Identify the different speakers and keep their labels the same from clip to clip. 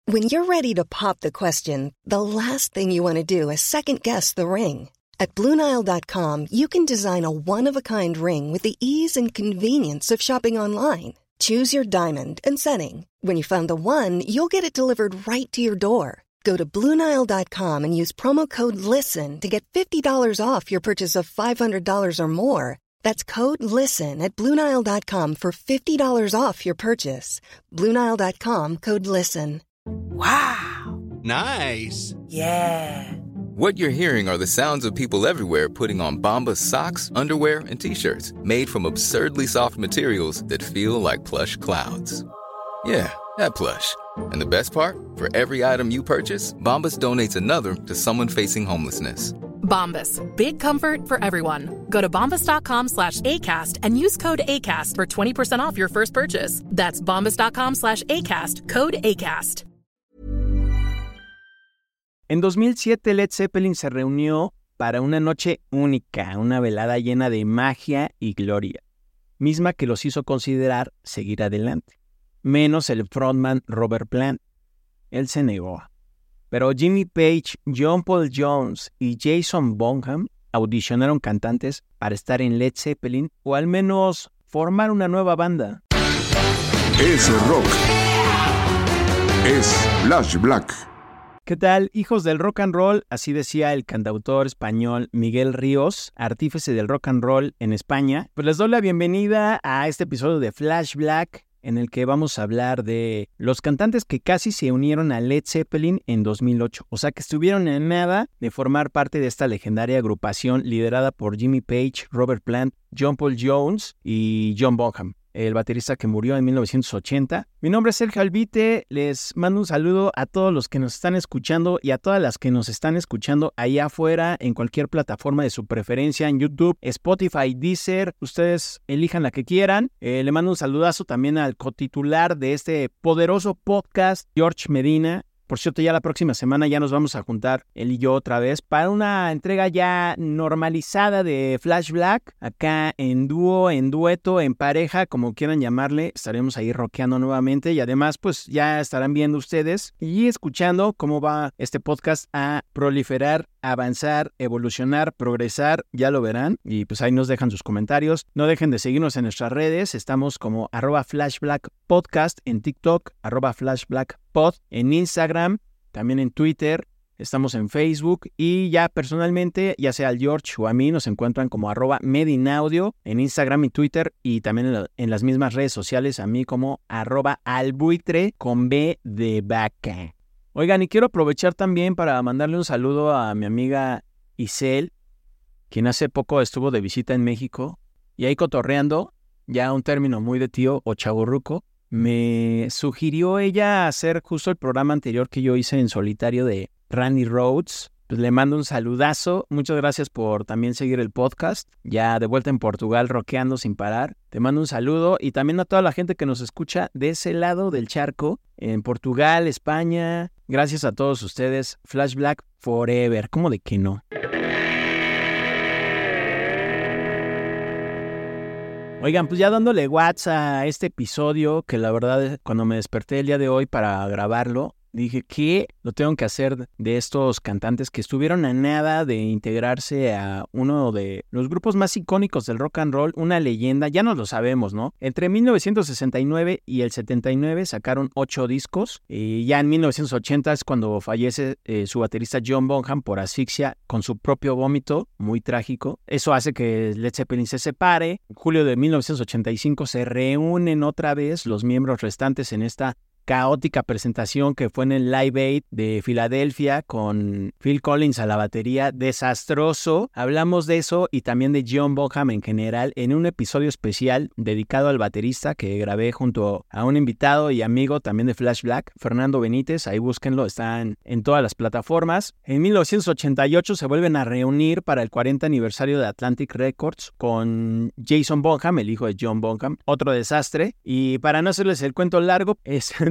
Speaker 1: When you're ready to pop the question, the last thing you want to do is second-guess the ring. At BlueNile.com, you can design a one-of-a-kind ring with the ease and convenience of shopping online. Choose your diamond and setting. When you find the one, you'll get it delivered right to your door. Go to BlueNile.com and use promo code LISTEN to get $50 off your purchase of $500 or more. That's code LISTEN at BlueNile.com for $50 off your purchase. BlueNile.com, code LISTEN.
Speaker 2: Wow.
Speaker 3: Nice.
Speaker 2: Yeah.
Speaker 4: What you're hearing are the sounds of people everywhere putting on Bombas socks, underwear, and T-shirts made from absurdly soft materials that feel like plush clouds. Yeah, that plush. And the best part? For every item you purchase, Bombas donates another to someone facing homelessness.
Speaker 5: Bombas. Big comfort for everyone. Go to bombas.com/ACAST and use code ACAST for 20% off your first purchase. That's bombas.com/ACAST. Code ACAST.
Speaker 6: En 2007, Led Zeppelin se reunió para una noche única, una velada llena de magia y gloria, misma que los hizo considerar seguir adelante, menos el frontman Robert Plant. Él se negó. Pero Jimmy Page, John Paul Jones y Jason Bonham audicionaron cantantes para estar en Led Zeppelin o al menos formar una nueva banda.
Speaker 7: Es rock. Es Flash Black.
Speaker 6: ¿Qué tal, hijos del rock and roll? Así decía el cantautor español Miguel Ríos, artífice del rock and roll en España. Pues les doy la bienvenida a este episodio de Flash Black, en el que vamos a hablar de los cantantes que casi se unieron a Led Zeppelin en 2008. O sea, que estuvieron en nada de formar parte de esta legendaria agrupación liderada por Jimmy Page, Robert Plant, John Paul Jones y John Bonham, el baterista que murió en 1980. Mi nombre es Sergio Albite, les mando un saludo a todos los que nos están escuchando y a todas las que nos están escuchando allá afuera en cualquier plataforma de su preferencia, en YouTube, Spotify, Deezer, ustedes elijan la que quieran. Le mando un saludazo también al cotitular de este poderoso podcast, George Medina. Por cierto, ya la próxima semana ya nos vamos a juntar él y yo otra vez para una entrega ya normalizada de Flash Black. Acá en dúo, en dueto, en pareja, como quieran llamarle, estaremos ahí rockeando nuevamente. Y además, pues ya estarán viendo ustedes y escuchando cómo va este podcast a proliferar, avanzar, evolucionar, progresar. Ya lo verán. Y pues ahí nos dejan sus comentarios. No dejen de seguirnos en nuestras redes. Estamos como @FlashBlackPodcast en TikTok, @FlashBlackPod en Instagram, también en Twitter, estamos en Facebook y ya personalmente, ya sea al George o a mí, nos encuentran como @Medinaudio en Instagram y Twitter y también en las mismas redes sociales a mí como @albuitre con B de vaca. Oigan, y quiero aprovechar también para mandarle un saludo a mi amiga Isel, quien hace poco estuvo de visita en México y ahí cotorreando, ya un término muy de tío o chavorruco, me sugirió ella hacer justo el programa anterior que yo hice en solitario de Randy Rhoads. Pues le mando un saludazo. Muchas gracias por también seguir el podcast. Ya de vuelta en Portugal, rockeando sin parar. Te mando un saludo y también a toda la gente que nos escucha de ese lado del charco, en Portugal, España. Gracias a todos ustedes. Flash Black Forever. ¿Cómo de que no? Oigan, pues ya dándole WhatsApp a este episodio, que la verdad cuando me desperté el día de hoy para grabarlo, dije que lo tengo que hacer de estos cantantes que estuvieron a nada de integrarse a uno de los grupos más icónicos del rock and roll, una leyenda, ya no lo sabemos, ¿no? Entre 1969 y el 79 sacaron 8 discos y ya en 1980 es cuando fallece su baterista John Bonham por asfixia con su propio vómito, muy trágico. Eso hace que Led Zeppelin se separe. En julio de 1985 se reúnen otra vez los miembros restantes en esta caótica presentación que fue en el Live Aid de Filadelfia con Phil Collins a la batería. Desastroso. Hablamos de eso y también de John Bonham en general en un episodio especial dedicado al baterista que grabé junto a un invitado y amigo también de Flash Black, Fernando Benítez. Ahí búsquenlo, están en todas las plataformas. En 1988 se vuelven a reunir para el 40 aniversario de Atlantic Records con Jason Bonham, el hijo de John Bonham. Otro desastre. Y para no hacerles el cuento largo, en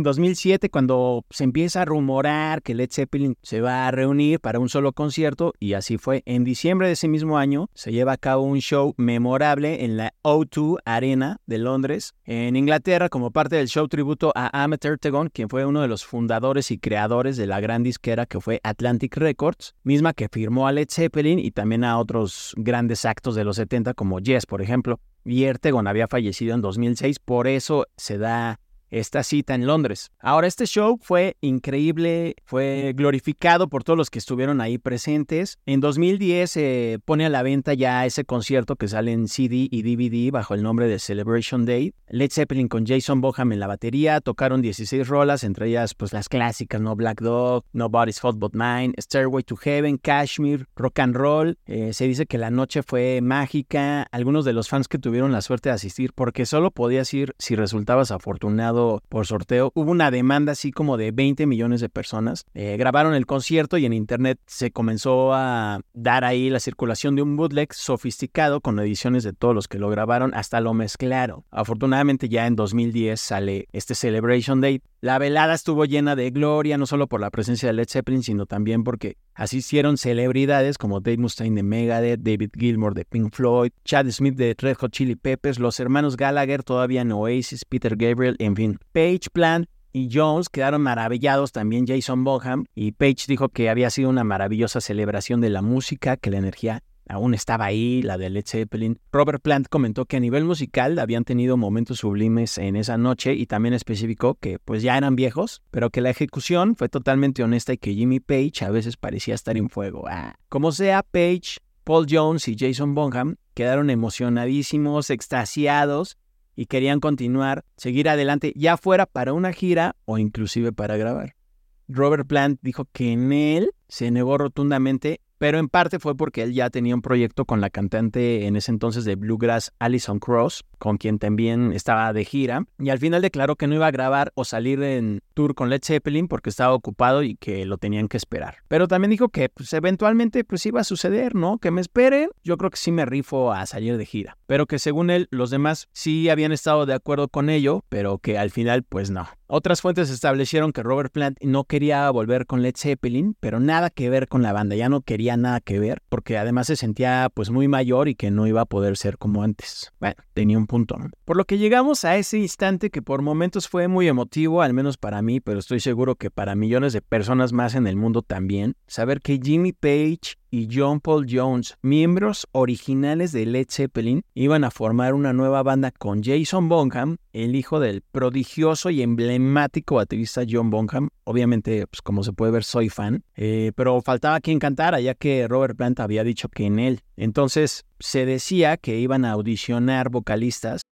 Speaker 6: en 2007 cuando se empieza a rumorar que Led Zeppelin se va a reunir para un solo concierto, y así fue. En diciembre de ese mismo año se lleva a cabo un show memorable en la O2 Arena de Londres, en Inglaterra, como parte del show tributo a Ahmet Ertegun, quien fue uno de los fundadores y creadores de la gran disquera que fue Atlantic Records, misma que firmó a Led Zeppelin y también a otros grandes actos de los 70 como Yes, por ejemplo. Y Ertegun había fallecido en 2006, por eso se da esta cita en Londres. Ahora, este show fue increíble, fue glorificado por todos los que estuvieron ahí presentes. En 2010 se pone a la venta ya ese concierto que sale en CD y DVD bajo el nombre de Celebration Day. Led Zeppelin con Jason Bonham en la batería, tocaron 16 rolas, entre ellas pues las clásicas, ¿no? Black Dog, Nobody's Fault But Mine, Stairway to Heaven, Kashmir, Rock and Roll. Se dice que la noche fue mágica. Algunos de los fans que tuvieron la suerte de asistir, porque solo podías ir si resultabas afortunado por sorteo, hubo una demanda así como de 20 millones de personas. Grabaron el concierto y en internet se comenzó a dar ahí la circulación de un bootleg sofisticado con ediciones de todos los que lo grabaron, hasta lo mezclaron. Afortunadamente ya en 2010 sale este Celebration Day. La velada estuvo llena de gloria, no solo por la presencia de Led Zeppelin, sino también porque asistieron celebridades como Dave Mustaine de Megadeth, David Gilmour de Pink Floyd, Chad Smith de Red Hot Chili Peppers, los hermanos Gallagher todavía en Oasis, Peter Gabriel, en fin. Page, Plant y Jones quedaron maravillados, también Jason Bonham, y Page dijo que había sido una maravillosa celebración de la música, que la energía aún estaba ahí, la de Led Zeppelin. Robert Plant comentó que a nivel musical habían tenido momentos sublimes en esa noche, y también especificó que pues ya eran viejos, pero que la ejecución fue totalmente honesta y que Jimmy Page a veces parecía estar en fuego. Como sea, Page, Paul Jones y Jason Bonham quedaron emocionadísimos, extasiados, y querían continuar, seguir adelante, ya fuera para una gira o inclusive para grabar. Robert Plant dijo que en él se negó rotundamente, pero en parte fue porque él ya tenía un proyecto con la cantante en ese entonces de bluegrass Alison Krauss, con quien también estaba de gira, y al final declaró que no iba a grabar o salir en tour con Led Zeppelin porque estaba ocupado y que lo tenían que esperar. Pero también dijo que pues, eventualmente pues iba a suceder, ¿no? Que me esperen, yo creo que sí me rifo a salir de gira. Pero que según él, los demás sí habían estado de acuerdo con ello, pero que al final pues no. Otras fuentes establecieron que Robert Plant no quería volver con Led Zeppelin, pero nada que ver con la banda, ya no quería nada que ver, porque además se sentía pues muy mayor y que no iba a poder ser como antes. Bueno, tenía un punto, ¿no? Por lo que llegamos a ese instante que por momentos fue muy emotivo, al menos para mí, pero estoy seguro que para millones de personas más en el mundo también, saber que Jimmy Page y John Paul Jones, miembros originales de Led Zeppelin, iban a formar una nueva banda con Jason Bonham, el hijo del prodigioso y emblemático baterista John Bonham. Obviamente, pues como se puede ver, soy fan, pero faltaba quien cantara, ya que Robert Plant había dicho que en él. Entonces, se decía que iban a audicionar vocalistas.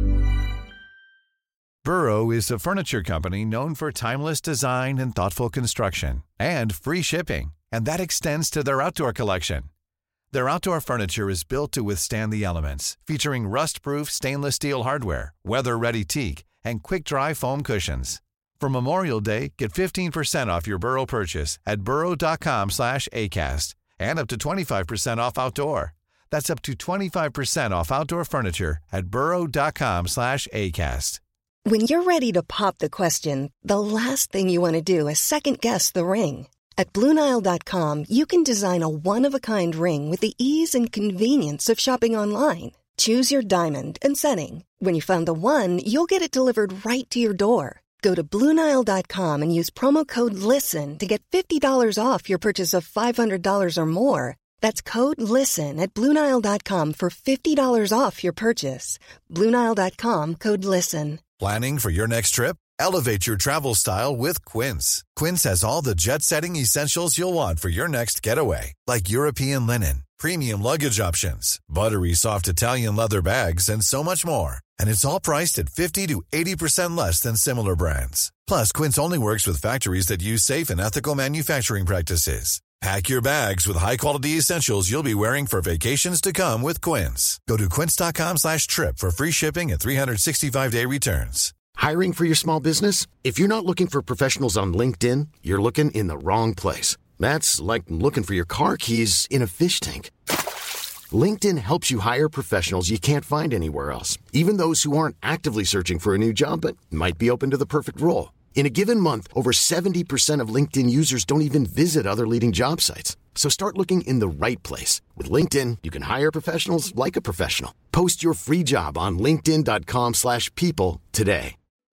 Speaker 3: Burrow is a furniture company known for timeless design and thoughtful construction, and free shipping. And that extends to their outdoor collection. Their outdoor furniture is built to withstand the elements, featuring rust-proof stainless steel hardware, weather-ready teak, and quick-dry foam cushions. For Memorial Day, get 15% off your Burrow purchase at burrow.com/ACAST and up to 25% off outdoor. That's up to 25% off outdoor furniture at burrow.com/ACAST.
Speaker 1: When you're ready to pop the question, the last thing you want to do is second-guess the ring. At BlueNile.com, you can design a one-of-a-kind ring with the ease and convenience of shopping online. Choose your diamond and setting. When you find the one, you'll get it delivered right to your door. Go to BlueNile.com and use promo code LISTEN to get $50 off your purchase of $500 or more. That's code LISTEN at BlueNile.com for $50 off your purchase. BlueNile.com, code LISTEN.
Speaker 3: Planning for your next trip? Elevate your travel style with Quince. Quince has all the jet-setting essentials you'll want for your next getaway, like European linen, premium luggage options, buttery soft Italian leather bags, and so much more. And it's all priced at 50 to 80% less than similar brands. Plus, Quince only works with factories that use safe and ethical manufacturing practices. Pack your bags with high-quality essentials you'll be wearing for vacations to come with Quince. Go to quince.com/trip for free shipping and 365-day returns.
Speaker 8: Hiring for your small business? If you're not looking for professionals on LinkedIn, you're looking in the wrong place. That's like looking for your car keys in a fish tank. LinkedIn helps you hire professionals you can't find anywhere else, even those who aren't actively searching for a new job but might be open to the perfect role. In a given month, over 70% of LinkedIn users don't even visit other leading job sites. So start looking in the right place. With LinkedIn, you can hire professionals like a professional. Post your free job on linkedin.com/people today.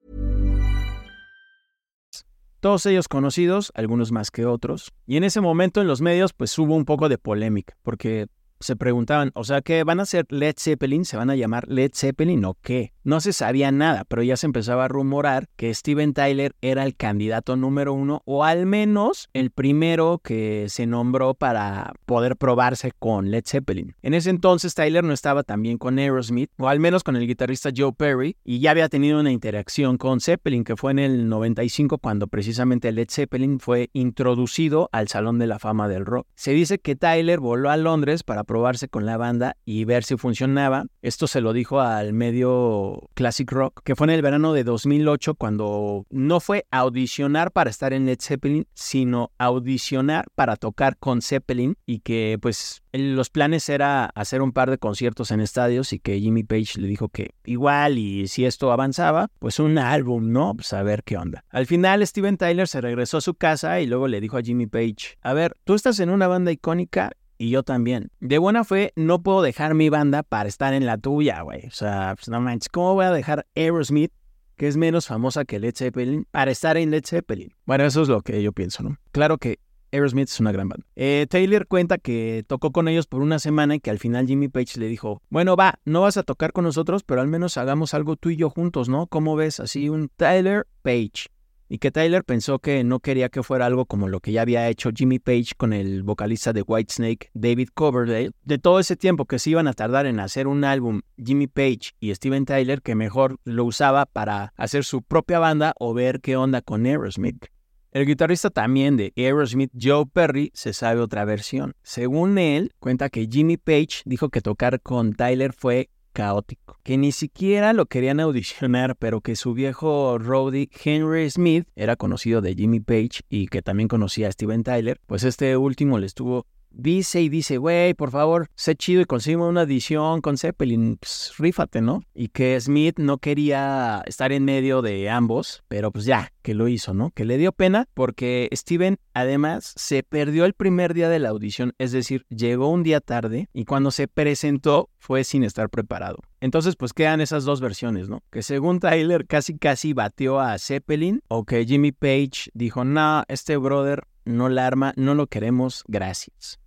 Speaker 6: Todos ellos conocidos, algunos más que otros. Y en ese momento en los medios pues hubo un poco de polémica, porque se preguntaban, o sea, ¿qué van a hacer Led Zeppelin? ¿Se van a llamar Led Zeppelin o qué? No se sabía nada, pero ya se empezaba a rumorar que Steven Tyler era el candidato número 1, o al menos el primero que se nombró para poder probarse con Led Zeppelin. En ese entonces Tyler no estaba tan bien con Aerosmith, o al menos con el guitarrista Joe Perry, y ya había tenido una interacción con Zeppelin, que fue en el 95 cuando precisamente Led Zeppelin fue introducido al Salón de la Fama del Rock. Se dice que Tyler voló a Londres para probarse con la banda y ver si funcionaba. Esto se lo dijo al medio Classic Rock, que fue en el verano de 2008 cuando no fue a audicionar para estar en Led Zeppelin, sino audicionar para tocar con Zeppelin, y que pues los planes era hacer un par de conciertos en estadios y que Jimmy Page le dijo que igual y si esto avanzaba, pues un álbum, ¿no? Pues a ver qué onda. Al final Steven Tyler se regresó a su casa y luego le dijo a Jimmy Page, a ver, tú estás en una banda icónica y yo también. De buena fe, no puedo dejar mi banda para estar en la tuya, güey. O sea, pues no manches, ¿cómo voy a dejar Aerosmith, que es menos famosa que Led Zeppelin, para estar en Led Zeppelin? Bueno, eso es lo que yo pienso, ¿no? Claro que Aerosmith es una gran banda. Taylor cuenta que tocó con ellos por una semana y que al final Jimmy Page le dijo, bueno, va, no vas a tocar con nosotros, pero al menos hagamos algo tú y yo juntos, ¿no? ¿Cómo ves? Así un Tyler Page. Y que Tyler pensó que no quería que fuera algo como lo que ya había hecho Jimmy Page con el vocalista de Whitesnake, David Coverdale. De todo ese tiempo que se iban a tardar en hacer un álbum, Jimmy Page y Steven Tyler, que mejor lo usaba para hacer su propia banda o ver qué onda con Aerosmith. El guitarrista también de Aerosmith, Joe Perry, se sabe otra versión. Según él, cuenta que Jimmy Page dijo que tocar con Tyler fue caótico, que ni siquiera lo querían audicionar, pero que su viejo roadie Henry Smith era conocido de Jimmy Page y que también conocía a Steven Tyler, pues este último le estuvo dice, güey, por favor, sé chido y consigue una audición con Zeppelin, pues rífate, ¿no? Y que Smith no quería estar en medio de ambos, pero pues ya, que lo hizo, ¿no? Que le dio pena porque Steven además se perdió el primer día de la audición, es decir, llegó un día tarde y cuando se presentó fue sin estar preparado. Entonces pues quedan esas dos versiones, ¿no? Que según Tyler casi bateó a Zeppelin, o que Jimmy Page dijo, no, este brother no la arma, no lo queremos, gracias.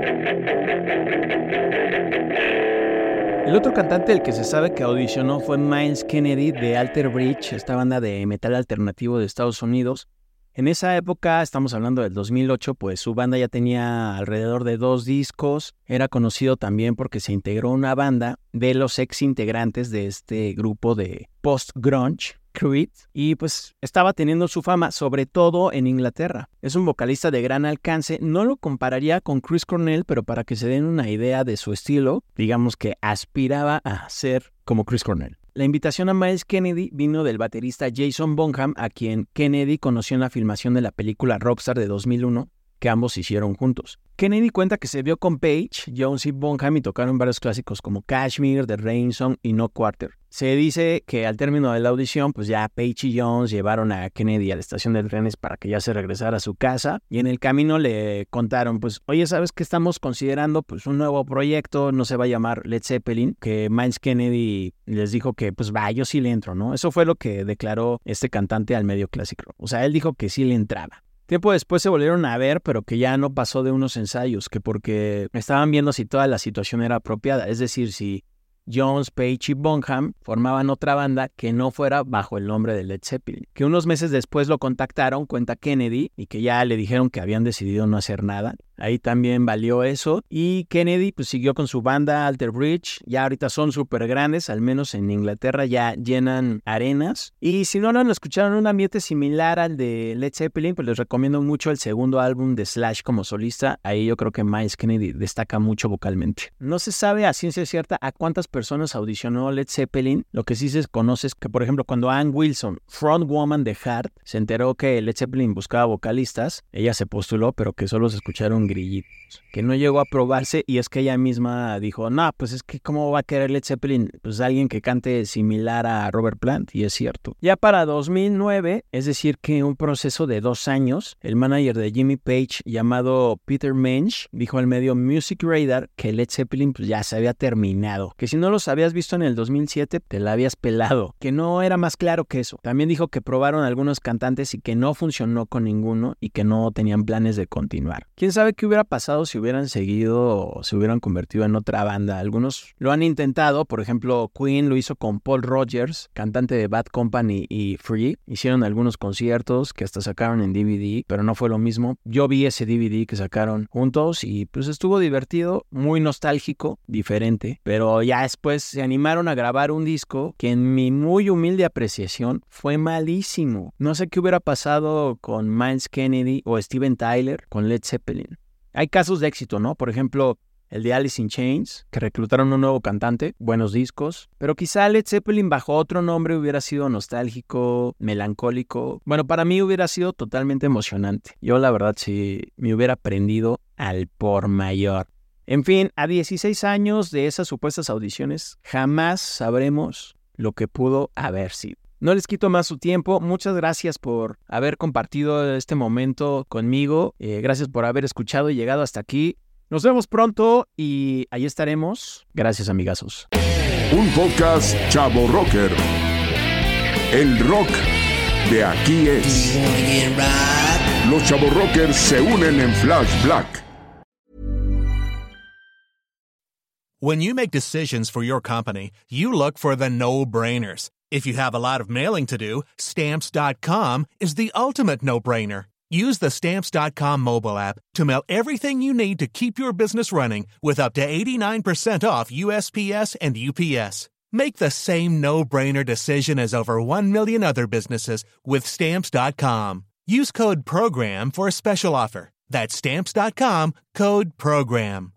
Speaker 6: El otro cantante del que se sabe que audicionó fue Myles Kennedy de Alter Bridge, esta banda de metal alternativo de Estados Unidos. En esa época, estamos hablando del 2008, pues su banda ya tenía alrededor de 2 discos. Era conocido también porque se integró a una banda de los ex integrantes de este grupo de post-grunge, Creed, y pues estaba teniendo su fama, sobre todo en Inglaterra. Es un vocalista de gran alcance, no lo compararía con Chris Cornell, pero para que se den una idea de su estilo, digamos que aspiraba a ser como Chris Cornell. La invitación a Myles Kennedy vino del baterista Jason Bonham, a quien Kennedy conoció en la filmación de la película Rockstar de 2001, que ambos hicieron juntos. Kennedy cuenta que se vio con Page, Jones y Bonham y tocaron varios clásicos como Kashmir, The Rain Song y No Quarter. Se dice que al término de la audición, pues ya Page y Jones llevaron a Kennedy a la estación de trenes para que ya se regresara a su casa, y en el camino le contaron, pues, oye, ¿sabes qué estamos considerando? Pues un nuevo proyecto, no se va a llamar Led Zeppelin, que Myles Kennedy les dijo que, pues va, yo sí le entro, ¿no? Eso fue lo que declaró este cantante al medio clásico. O sea, él dijo que sí le entraba. Tiempo después se volvieron a ver, pero que ya no pasó de unos ensayos, que porque estaban viendo si toda la situación era apropiada, es decir, si Jones, Page y Bonham formaban otra banda que no fuera bajo el nombre de Led Zeppelin. Que unos meses después lo contactaron, cuenta Kennedy, y que ya le dijeron que habían decidido no hacer nada. Ahí también valió eso. Y Kennedy pues siguió con su banda Alter Bridge. Ya ahorita son súper grandes, al menos en Inglaterra ya llenan arenas. Y si no lo han escuchado en un ambiente similar al de Led Zeppelin, pues les recomiendo mucho el segundo álbum de Slash como solista. Ahí yo creo que Myles Kennedy destaca mucho vocalmente. No se sabe a ciencia cierta a cuántas personas audicionó Led Zeppelin. Lo que sí se conoce es que, por ejemplo, cuando Ann Wilson, frontwoman de Heart, se enteró que Led Zeppelin buscaba vocalistas, ella se postuló, pero que solo se escucharon grillitos, que no llegó a aprobarse, y es que ella misma dijo, no, pues es que ¿cómo va a querer Led Zeppelin? Pues alguien que cante similar a Robert Plant, y es cierto. Ya para 2009, es decir que un proceso de 2 años, el manager de Jimmy Page llamado Peter Mensch dijo al medio Music Radar que Led Zeppelin pues ya se había terminado, que si no los habías visto en el 2007 te la habías pelado, que no era más claro que eso. También dijo que probaron algunos cantantes y que no funcionó con ninguno y que no tenían planes de continuar. ¿Quién sabe qué hubiera pasado si hubieran seguido o se hubieran convertido en otra banda? Algunos lo han intentado, por ejemplo Queen lo hizo con Paul Rogers, cantante de Bad Company y Free. Hicieron algunos conciertos que hasta sacaron en DVD, pero no fue lo mismo. Yo vi ese DVD que sacaron juntos y pues estuvo divertido, muy nostálgico, diferente, pero ya después se animaron a grabar un disco que en mi muy humilde apreciación fue malísimo. No sé qué hubiera pasado con Miles Kennedy o Steven Tyler con Led Zeppelin. Hay casos de éxito, ¿no? Por ejemplo, el de Alice in Chains, que reclutaron un nuevo cantante, buenos discos, pero quizá Led Zeppelin bajo otro nombre hubiera sido nostálgico, melancólico. Bueno, para mí hubiera sido totalmente emocionante. Yo la verdad sí me hubiera prendido al por mayor. En fin, a 16 años de esas supuestas audiciones, jamás sabremos lo que pudo haber sido. No les quito más su tiempo. Muchas gracias por haber compartido este momento conmigo. Gracias por haber escuchado y llegado hasta aquí. Nos vemos pronto y ahí estaremos. Gracias, amigazos.
Speaker 7: Un podcast Chavo Rocker. El rock de aquí es. Los Chavo Rockers se unen en Flash Black.
Speaker 9: When you make decisions for your company, you look for the no-brainers. If you have a lot of mailing to do, Stamps.com is the ultimate no-brainer. Use the Stamps.com mobile app to mail everything you need to keep your business running with up to 89% off USPS and UPS. Make the same no-brainer decision as over 1 million other businesses with Stamps.com. Use code PROGRAM for a special offer. That's Stamps.com, code PROGRAM.